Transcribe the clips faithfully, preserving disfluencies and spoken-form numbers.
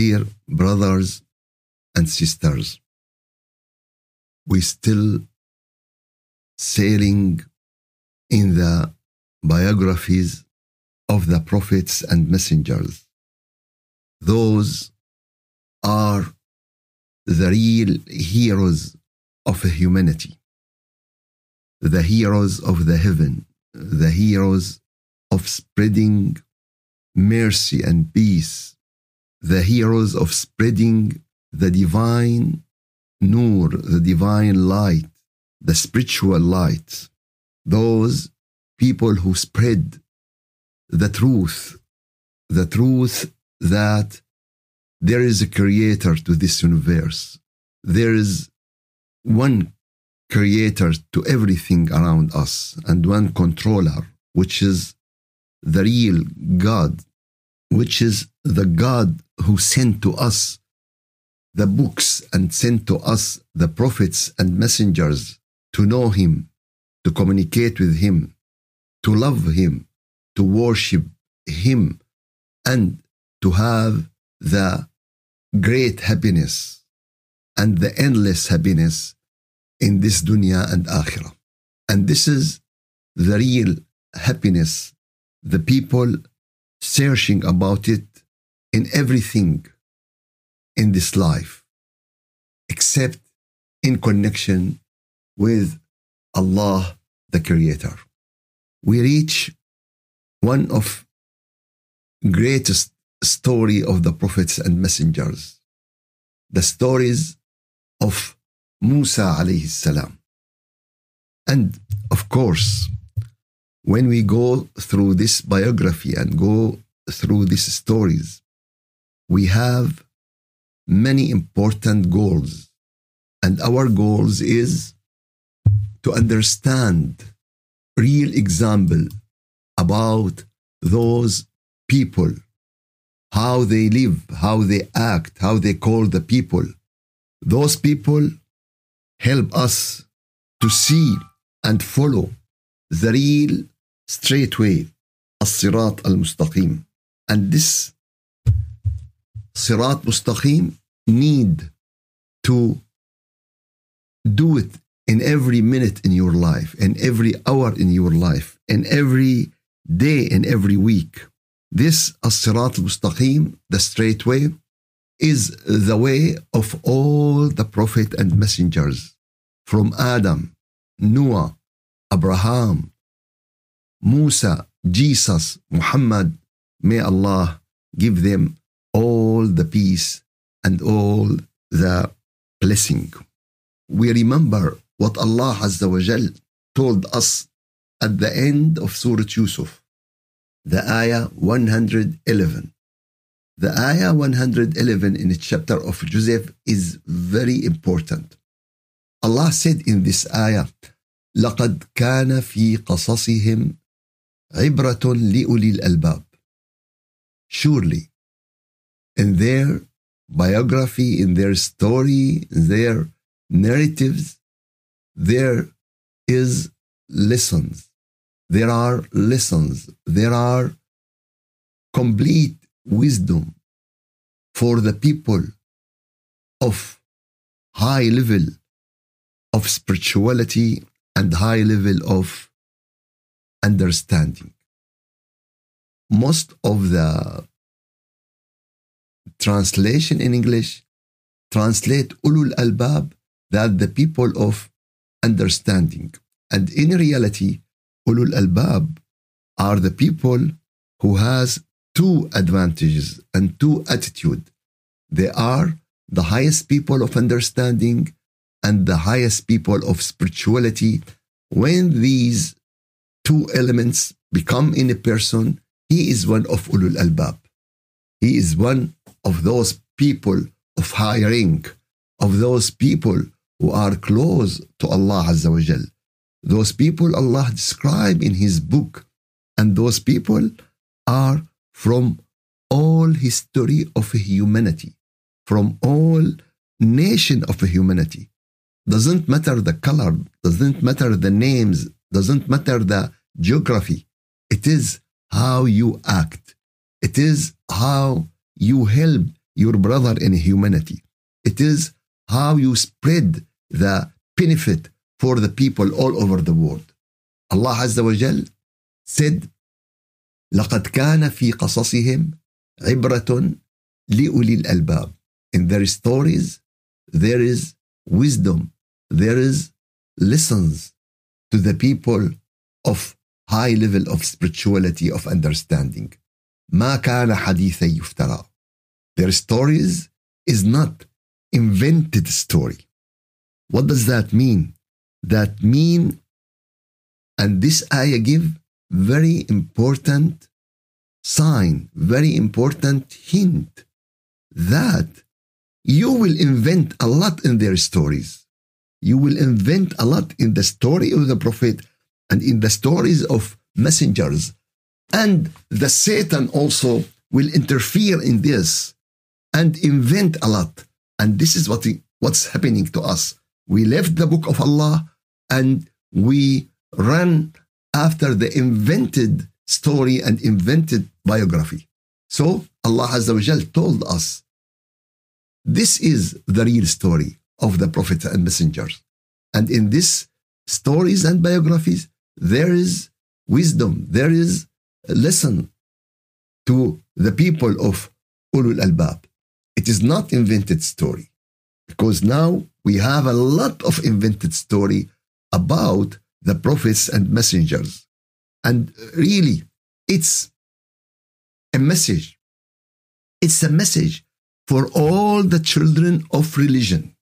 Dear brothers and sisters, we still sailing in the biographies of the prophets and messengers. Those are the real heroes of humanity, the heroes of the heaven, the heroes of spreading mercy and peace, the heroes of spreading the divine nur, the divine light, the spiritual light. Those people who spread the truth, the truth that there is a creator to this universe. There is one creator to everything around us and one controller, which is the real God, which is the God who sent to us the books and sent to us the prophets and messengers to know him, to communicate with him, to love him, to worship him, and to have the great happiness and the endless happiness in this dunya and akhirah. And this is the real happiness, the people searching about it in everything in this life, except in connection with Allah, the Creator. We reach one of greatest story of the prophets and messengers, the stories of Musa alayhi salam. And of course, when we go through this biography and go through these stories, we have many important goals. And our goals is to understand real example about those people, how they live, how they act, how they call the people. Those people help us to see and follow the real straight way, الصراط المستقيم. And this صراط مستقيم need to do it in every minute in your life, in every hour in your life, in every day, in every week. This الصراط المستقيم, the straight way, is the way of all the prophet and messengers, from Adam, Noah, Abraham, Musa, Jesus, Muhammad. May Allah give them all the peace and all the blessing. We remember what Allah Azza wa Jal told us at the end of Surah Yusuf, the ayah one hundred eleven. The ayah one hundred eleven in the chapter of Joseph is very important. Allah said in this ayah, لَقَدْ كَانَ فِي قَصَصِهِمْ عِبْرَةٌ لِأُولِي الْأَلْبَابِ. Surely, in their biography, in their story, in their narratives, there is lessons. There are lessons. There are complete wisdom for the people of high level of spirituality and high level of understanding. Most of the translation in English translate ulul albab, that the people of understanding. And in reality, ulul albab are the people who has two advantages and two attitude. They are the highest people of understanding and the highest people of spirituality. When these two elements become in a person, he is one of ulul albab. He is one of those people of high rank, of those people who are close to Allah Azza wa Jal. Those people Allah described in His book, and those people are from all history of humanity, from all nation of humanity. Doesn't matter the color, doesn't matter the names, doesn't matter the geography. It is how you act. It is how you help your brother in humanity. It is how you spread the benefit for the people all over the world. Allah Azza wa Jal said, لَقَدْ كَانَ فِي قَصَصِهِمْ عِبْرَةٌ لِأُولِي الْأَلْبَابِ. In their stories, there is wisdom, there is lessons to the people of high level of spirituality, of understanding. ما كان حديثا يفترى. Their stories is not invented story. What does that mean? That mean, and this ayah give very important sign, very important hint that you will invent a lot in their stories. You will invent a lot in the story of the Prophet and in the stories of messengers. And the Satan also will interfere in this and invent a lot. And this is what what's happening to us. We left the book of Allah and we run after the invented story and invented biography. So Allah Azza wa Jal told us, this is the real story of the prophets and messengers. And in these stories and biographies, there is wisdom, there is a lesson to the people of Ulul Albab. It is not invented story, because now we have a lot of invented story about the prophets and messengers. And really, it's a message. It's a message for all the children of religion.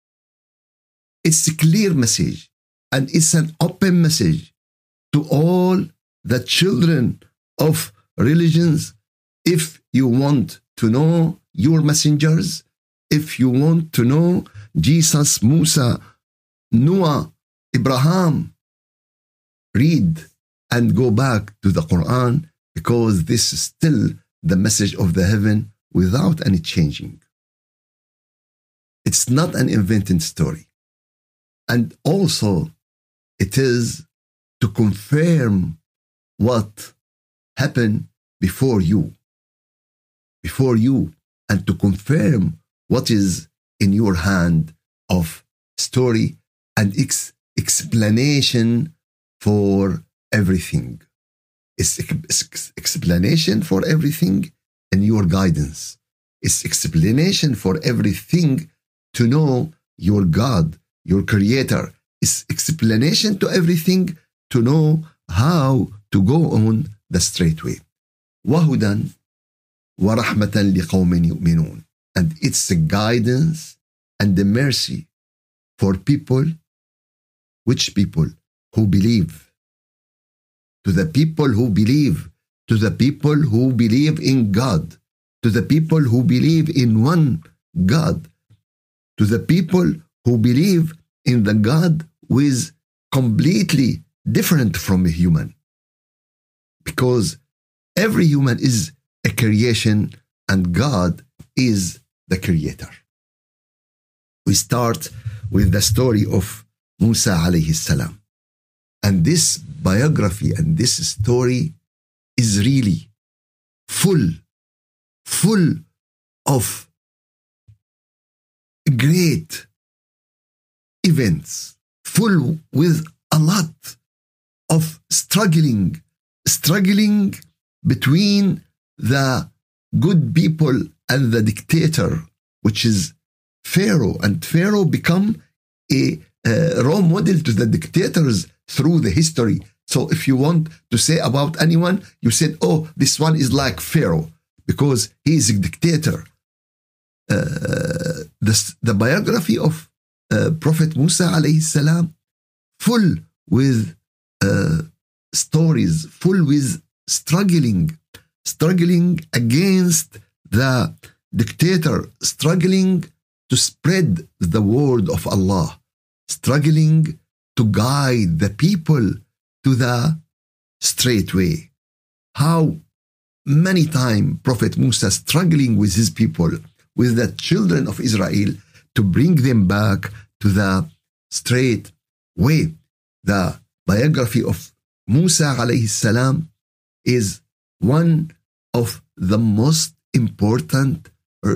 It's a clear message, and it's an open message to all the children of religions. If you want to know your messengers, if you want to know Jesus, Musa, Noah, Abraham, read and go back to the Quran, because this is still the message of the heaven without any changing. It's not an invented story. And also, it is to confirm what happened before you, before you, and to confirm what is in your hand of story and ex- explanation for everything. It's ex- explanation for everything and your guidance. It's explanation for everything to know your God, your Creator. It's explanation to everything to know how to go on the straight way. وَهُدًى وَرَحْمَةً لِقَوْمٍ يُؤْمِنُونَ. And it's a guidance and the mercy for people. Which people? Who believe. To the people who believe. To the people who believe in God. To the people who believe in one God. To the people who believe in the God who is completely different from a human. Because every human is a creation and God is the creator. We start with the story of Musa alayhi salam. And this biography and this story is really full, full of great events, full with a lot of struggling, struggling between the good people and the dictator, which is Pharaoh. And Pharaoh become a, a role model to the dictators through the history. So if you want to say about anyone, you said, oh, this one is like Pharaoh because he is a dictator. Uh, the, the biography of uh, Prophet Musa alayhi salam, full with uh, stories, full with struggling, struggling against the dictator, struggling to spread the word of Allah, struggling to guide the people to the straight way. How many times Prophet Musa struggling with his people, with the children of Israel, to bring them back to the straight way. The biography of Musa alayhi salam is one of the most important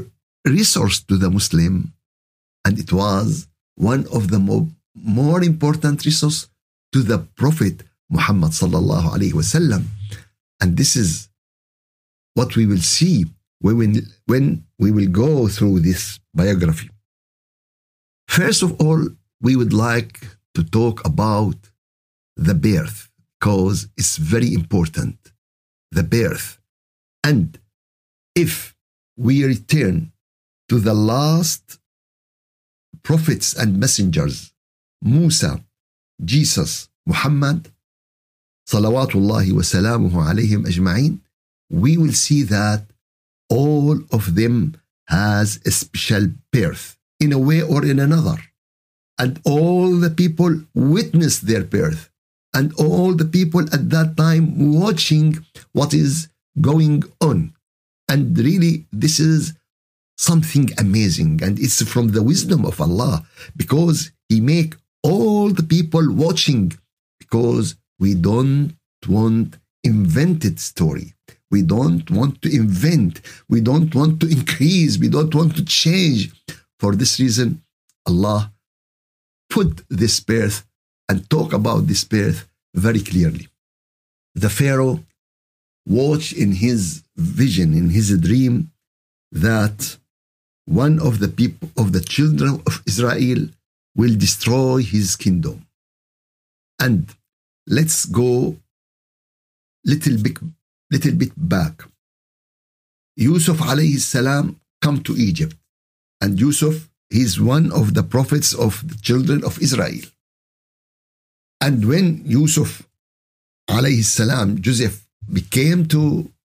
resource to the Muslim, and it was one of the mo- more important resource to the Prophet Muhammad sallallahu alaihi wasallam. And this is what we will see when, when we will go through this biography. First of all, we would like to talk about the birth, because it's very important, the birth. And if we return to the last prophets and messengers, Musa, Jesus, Muhammad, salawatullahi wa salamuhu alayhim ajma'in, we will see that all of them has a special birth in a way or in another. And all the people witnessed their birth. And all the people at that time watching what is going on. And really, this is something amazing. And it's from the wisdom of Allah, because He make all the people watching, because we don't want invented story. We don't want to invent. We don't want to increase. We don't want to change. For this reason, Allah put this birth and talk about this birth very clearly. The Pharaoh watched in his vision, in his dream, that one of the people, of the children of Israel, will destroy his kingdom. And let's go little bit, little bit back. Yusuf alayhi salam come to Egypt, and Yusuf, he's one of the prophets of the children of Israel. And when Yusuf alayhi salam, Joseph, became to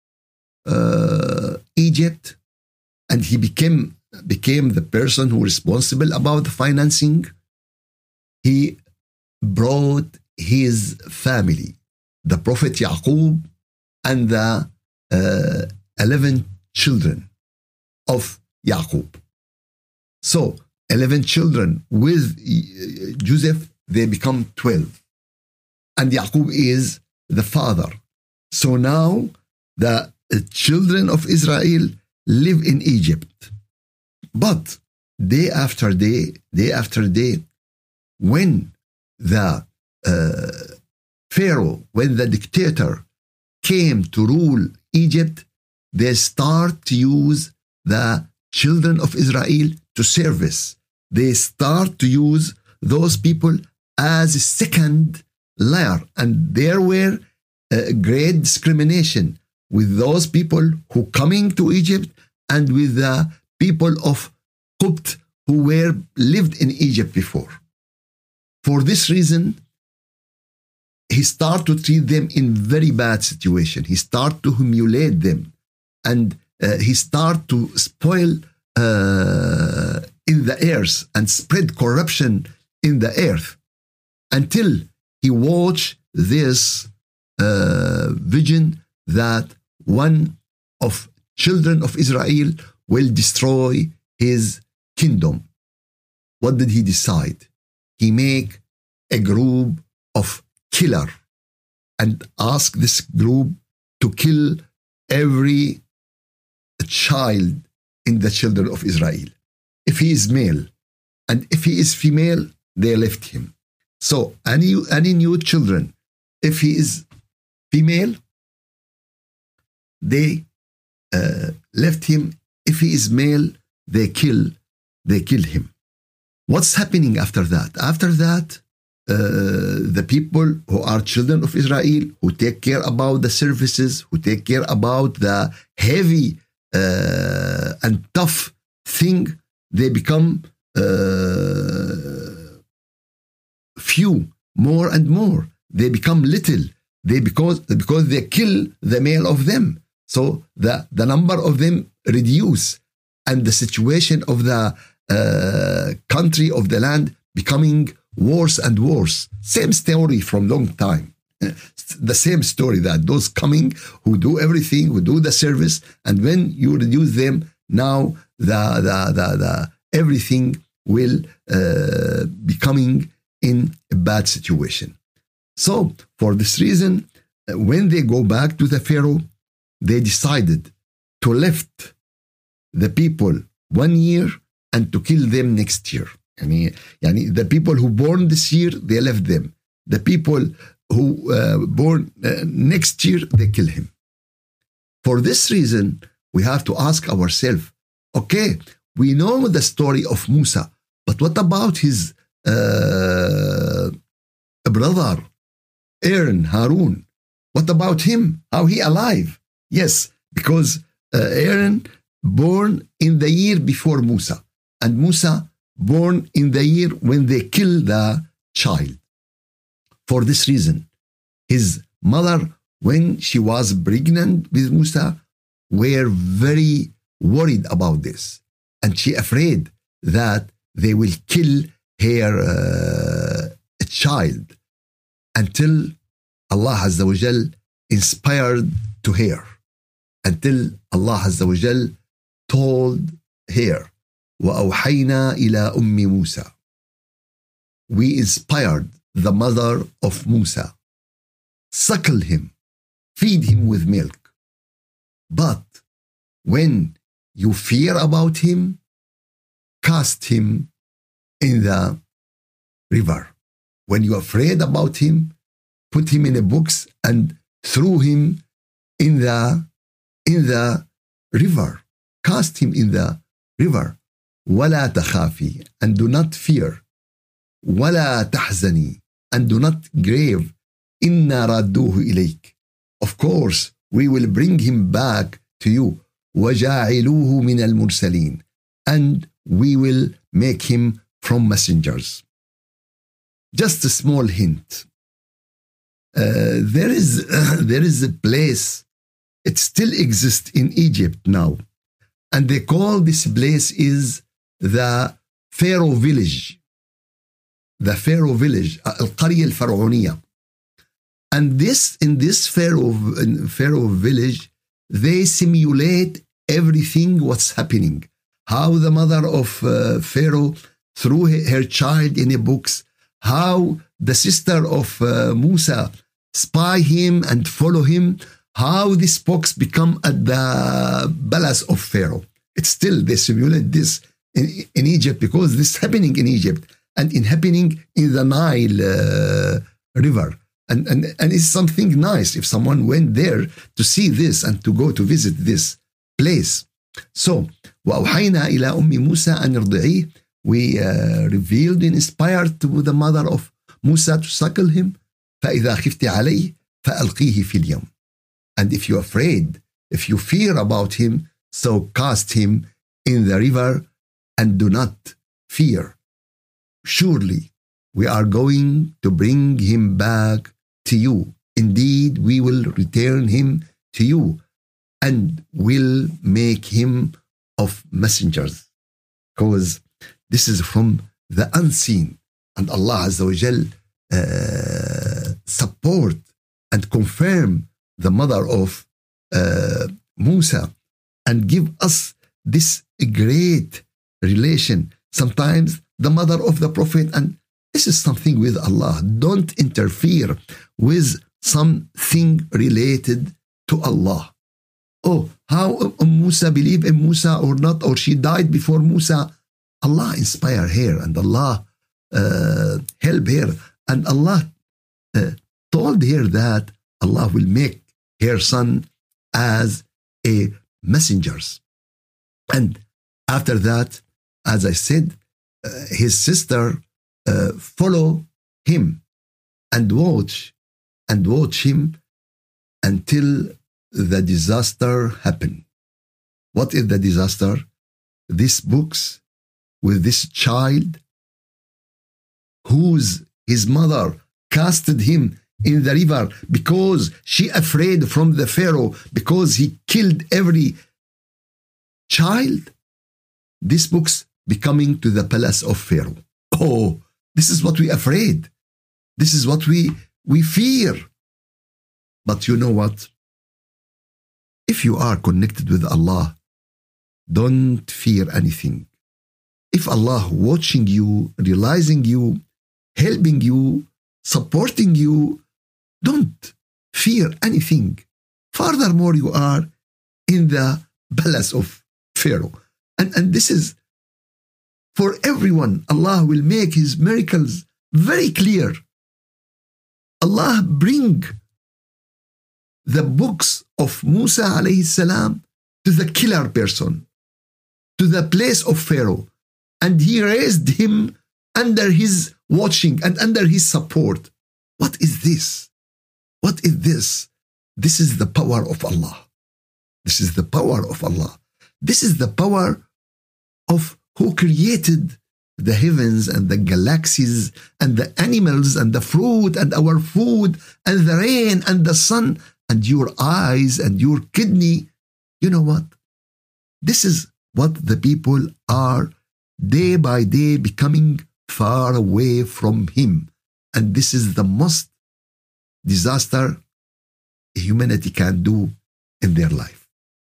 uh, Egypt, and he became became the person who was responsible about the financing, he brought his family, the Prophet Yaqub, and the uh, eleven children of Yaqub. So eleven children with Joseph, they become twelve. And Yaqub is the father. So now the children of Israel live in Egypt. But day after day, day after day, when the uh, Pharaoh, when the dictator came to rule Egypt, they start to use the children of Israel to service. They start to use those people as a second layer. And there were a great discrimination with those people who coming to Egypt and with the people of Qubt who were lived in Egypt before. For this reason, he started to treat them in very bad situation. He started to humiliate them, and uh, he started to spoil uh, in the earth and spread corruption in the earth, until he watched this uh, vision that one of children of Israel will destroy his kingdom. What did he decide? He make a group of killer and ask this group to kill every child in the children of Israel. If he is male, and if he is female, they left him. So any, any new children, if he is female, they uh, left him. If he is male, they kill, they kill him. What's happening after that? After that, uh, the people who are children of Israel, who take care about the services, who take care about the heavy uh, and tough thing, they become uh, few, more and more. They become little. They because because they kill the male of them. So the, the number of them reduce, and the situation of the uh, country, of the land, becoming worse and worse. Same story from long time. The same story, that those coming who do everything, who do the service, and when you reduce them, now the the the, the everything will uh, be coming in a bad situation. So for this reason, when they go back to the Pharaoh, they decided to lift the people one year and to kill them next year. يعني, يعني the people who born this year, they left them. The people who uh, born uh, next year, they kill him. For this reason, we have to ask ourselves, okay, we know the story of Musa, but what about his uh, brother, Aaron, Harun? What about him? How he alive? Yes, because uh, Aaron born in the year before Musa, and Musa born in the year when they kill the child. For this reason, his mother, when she was pregnant with Musa, were very worried about this. And she afraid that they will kill her uh, child until Allah Azza wa Jal inspired to her. Until Allah Azza wa Jal told her, وَأَوْحَيْنَا إِلَىٰ أُمِّ مُوسَى. We inspired the mother of Musa. Suckle him, feed him with milk. But when you fear about him, cast him in the river. When you're afraid about him, put him in a box and throw him in the, in the river. Cast him in the river. وَلَا تَخَافِي, and do not fear. وَلَا تَحْزَنِي, and do not grieve. إِنَّا رَادُّوهُ إِلَيْكَ. Of course, we will bring him back to you. وَجَاعِلُوهُ مِنَ الْمُرْسَلِينَ, and we will make him from messengers. Just a small hint. Uh, there is uh, there is a place, it still exists in Egypt now, and they call this place is the Pharaoh village. The Pharaoh village, القرية الفرعونية. And this in this Pharaoh Pharaoh village, they simulate everything what's happening. How the mother of uh, Pharaoh threw her child in a box. How the sister of uh, Musa spy him and follow him. How this box become at the palace of Pharaoh. It's still, they simulate this in, in Egypt because this is happening in Egypt and in happening in the Nile uh, river. And, and, and it's something nice if someone went there to see this and to go to visit this place. So, وَأَوْحَيْنَا إِلَىٰ أُمِّ مُوسَىٰ أَنْ ارْضِعِيهِ. We uh, revealed and inspired to the mother of Musa to suckle him. فَإِذَا خِفْتِ عَلَيْهِ فَأَلْقِيهِ فِي الْيَمِّ. And if you're afraid, if you fear about him, so cast him in the river and do not fear. Surely we are going to bring him back to you. Indeed, we will return him to you and will make him of messengers. Because this is from the unseen. And Allah Azza wa Jal uh, support and confirm the mother of uh, Musa and give us this great relation. Sometimes the mother of the Prophet, and this is something with Allah. Don't interfere with something related to Allah. Oh, how Musa believed in Musa or not, or she died before Musa. Allah inspire her and Allah uh, help her. And Allah uh, told her that Allah will make her son as a messengers. And after that, as I said, uh, his sister uh, follow him and watch and watch him until the disaster happened. What is the disaster? These books with this child whose his mother casted him in the river because she afraid from the Pharaoh because he killed every child. These books becoming to the palace of Pharaoh. Oh, this is what we afraid. This is what we we fear. But you know what? If you are connected with Allah, don't fear anything. If Allah watching you, realizing you, helping you, supporting you, don't fear anything. Furthermore, you are in the palace of Pharaoh. And, and this is for everyone. Allah will make his miracles very clear. Allah bring the books of Musa alayhi salam to the killer person, to the place of Pharaoh. And he raised him under his watching and under his support. What is this? What is this? This is the power of Allah. This is the power of Allah. This is the power of who created the heavens and the galaxies and the animals and the fruit and our food and the rain and the sun and your eyes and your kidney. You know what? This is what the people are day by day becoming far away from him. And this is the most disaster humanity can do in their life.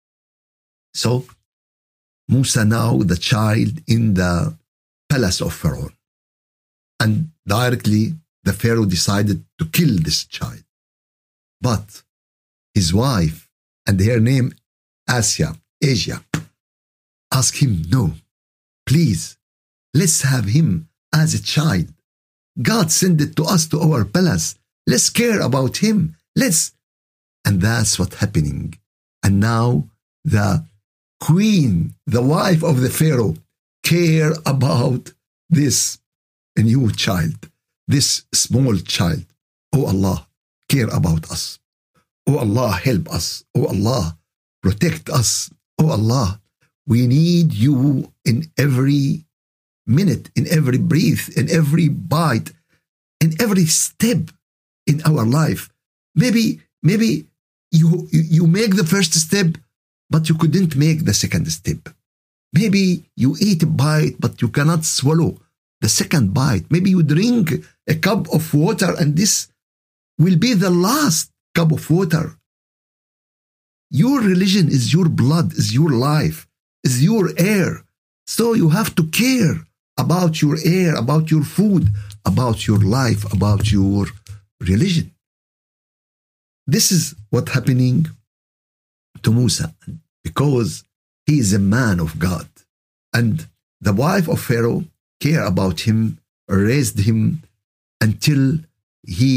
So Musa now the child in the palace of Pharaoh. And directly the Pharaoh decided to kill this child. But his wife and her name Asia, Asia, asked him, no, please, let's have him as a child. God sent it to us to our palace. Let's care about him. Let's. And that's what's happening. And now the queen, the wife of the Pharaoh, care about this new child, this small child. Oh Allah, care about us. Oh Allah, help us. Oh Allah, protect us. Oh Allah, we need you in every minute, in every breath, in every bite, in every step in our life. Maybe, maybe you, you, you make the first step, but you couldn't make the second step. Maybe you eat a bite, but you cannot swallow the second bite. Maybe you drink a cup of water and this will be the last cup of water. Your religion is your blood, is your life, is your air. So you have to care about your air, about your food, about your life, about your religion. This is what's happening to Musa because he is a man of God. And the wife of Pharaoh cared about him, raised him until he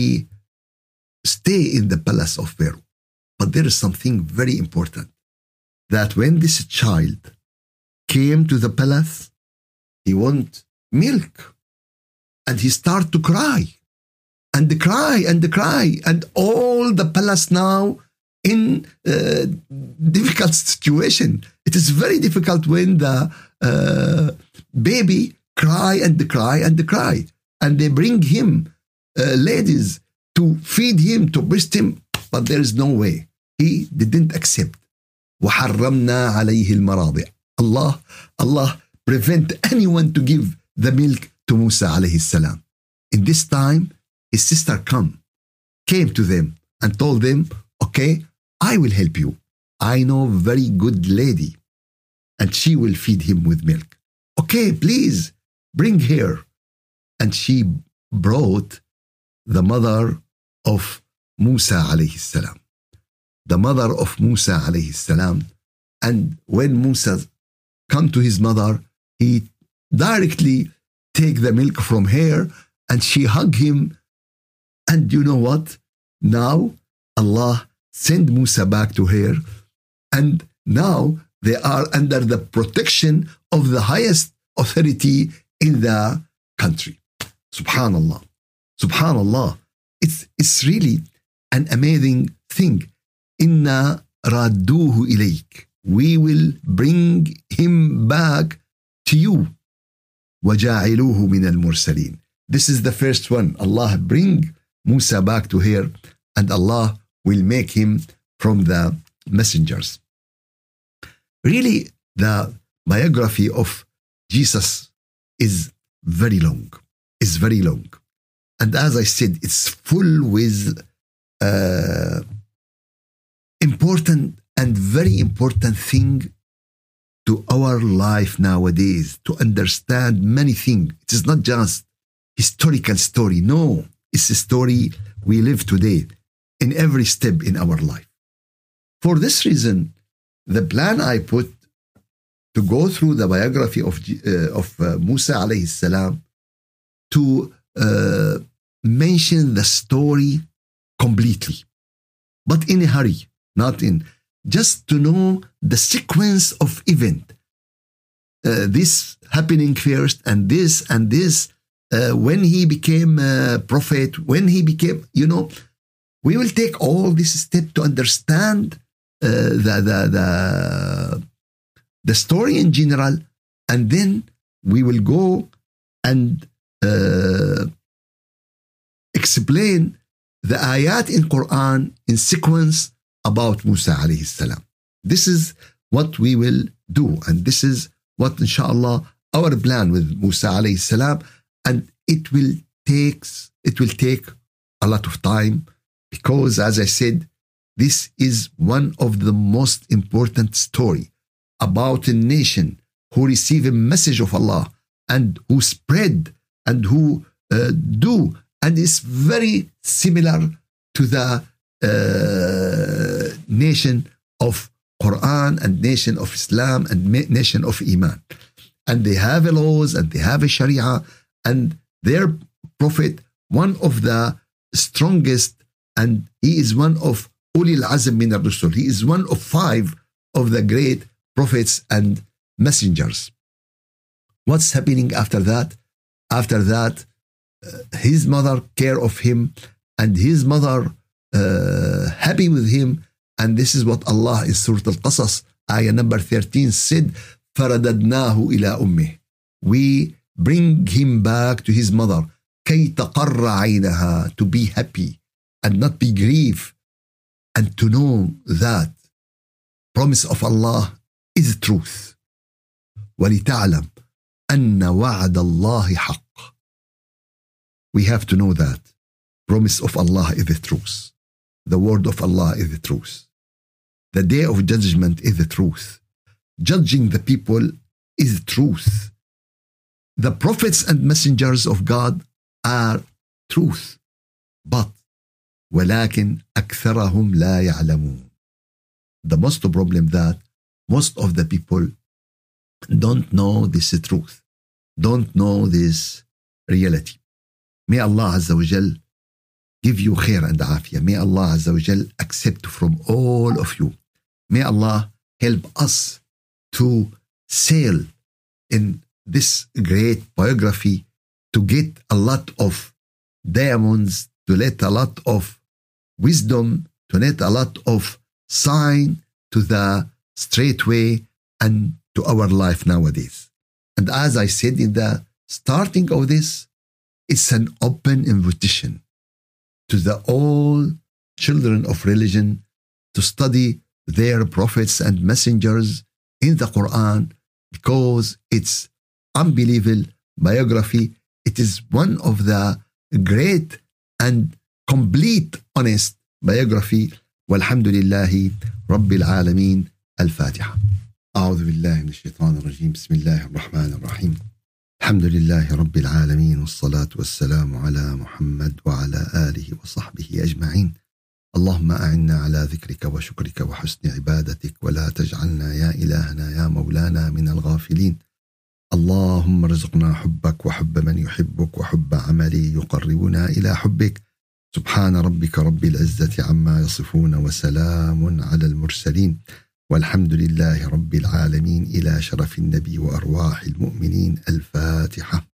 stay in the palace of Pharaoh. But there is something very important, that when this child came to the palace, he want milk. And he started to cry. And cry and cry. And all the palace now in a difficult situation. It is very difficult when the uh, baby cry and cry and cry. And they bring him uh, ladies to feed him, to breast him. But there is no way. He didn't accept. وَحَرَّمْنَا عَلَيْهِ الْمَرَاضِعِ. Allah, Allah prevent anyone to give the milk to Musa alayhi salam. In this time, his sister come, came to them and told them, okay, I will help you. I know very good lady and she will feed him with milk. Okay, please bring her. And she brought the mother of Musa alayhi salam. The mother of Musa alayhi salam. And when Musa come to his mother, he directly take the milk from her and she hug him. And you know what? Now Allah send Musa back to her. And now they are under the protection of the highest authority in the country. Subhanallah. Subhanallah. It's, it's really an amazing thing. Inna radduhu ilayk. We will bring him back to you. وَجَاعِلُوهُ مِنَ الْمُرْسَلِينَ. This is the first one. Allah bring Musa back to her and Allah will make him from the messengers. Really, the biography of Jesus is very long. Is very long. And as I said, it's full with uh, important and very important thing to our life nowadays, to understand many things. It is not just historical story. No, it's a story we live today in every step in our life. For this reason, the plan I put to go through the biography of, uh, of uh, Musa alayhi salam to uh, mention the story completely, but in a hurry, not in, just to know the sequence of event. Uh, this happening first, and this, and this, uh, when he became a prophet, when he became, you know, we will take all this step to understand uh, the, the, the, the story in general, and then we will go and uh, explain the ayat in Quran in sequence about Musa alayhi salam. This is what we will do, and this is what, inshallah, our plan with Musa alayhi salam, and it will takes it will take a lot of time, because, as I said, this is one of the most important story about a nation who receive a message of Allah and who spread and who uh, do, and is very similar to the uh, nation of Quran and nation of Islam and nation of Iman. And they have laws and they have a Sharia, and their prophet, one of the strongest, and he is one of Ulil Azm min al-Rusul. He is one of five of the great prophets and messengers. What's happening after that? After that, uh, his mother care of him, and his mother uh, happy with him. And this is what Allah in Surah Al-Qasas, ayah number thirteen said, فَرَدَدْنَاهُ إِلَىٰ أُمِّهِ. We bring him back to his mother, كَيْ تَقَرَّ عَيْنَهَا, to be happy and not be grieved, and to know that promise of Allah is truth. وَلِتَعْلَمْ أَنَّ وَعْدَ اللَّهِ حَقٌّ. We have to know that promise of Allah is the truth. The word of Allah is the truth. The day of judgment is the truth. Judging the people is the truth. The prophets and messengers of God are truth. But ولكن أكثرهم لا يعلمون. The most problem that most of the people don't know this truth, don't know this reality. May Allah Azza wa Jal give you khair and afiyah. May Allah Azza wa Jal accept from all of you. May Allah help us to sail in this great biography, to get a lot of diamonds, to let a lot of wisdom, to let a lot of sign to the straight way and to our life nowadays. And as I said in the starting of this, it's an open invitation to the all children of religion to study their prophets and messengers in the Quran, because it's unbelievable biography. It is one of the great and complete honest biography. Walhamdulillahi Rabbil Alameen. Al-Fatiha. أعوذ بالله من الشيطان الرجيم. بسم الله الرحمن الرحيم. الحمد لله رب العالمين، والصلاة والسلام على محمد وعلى آله وصحبه أجمعين. اللهم أعنا على ذكرك وشكرك وحسن عبادتك، ولا تجعلنا يا إلهنا يا مولانا من الغافلين. اللهم ارزقنا حبك وحب من يحبك وحب عملي يقربنا إلى حبك. سبحان ربك رب العزة عما يصفون، وسلام على المرسلين، والحمد لله رب العالمين. إلى شرف النبي وأرواح المؤمنين. الفاتحة.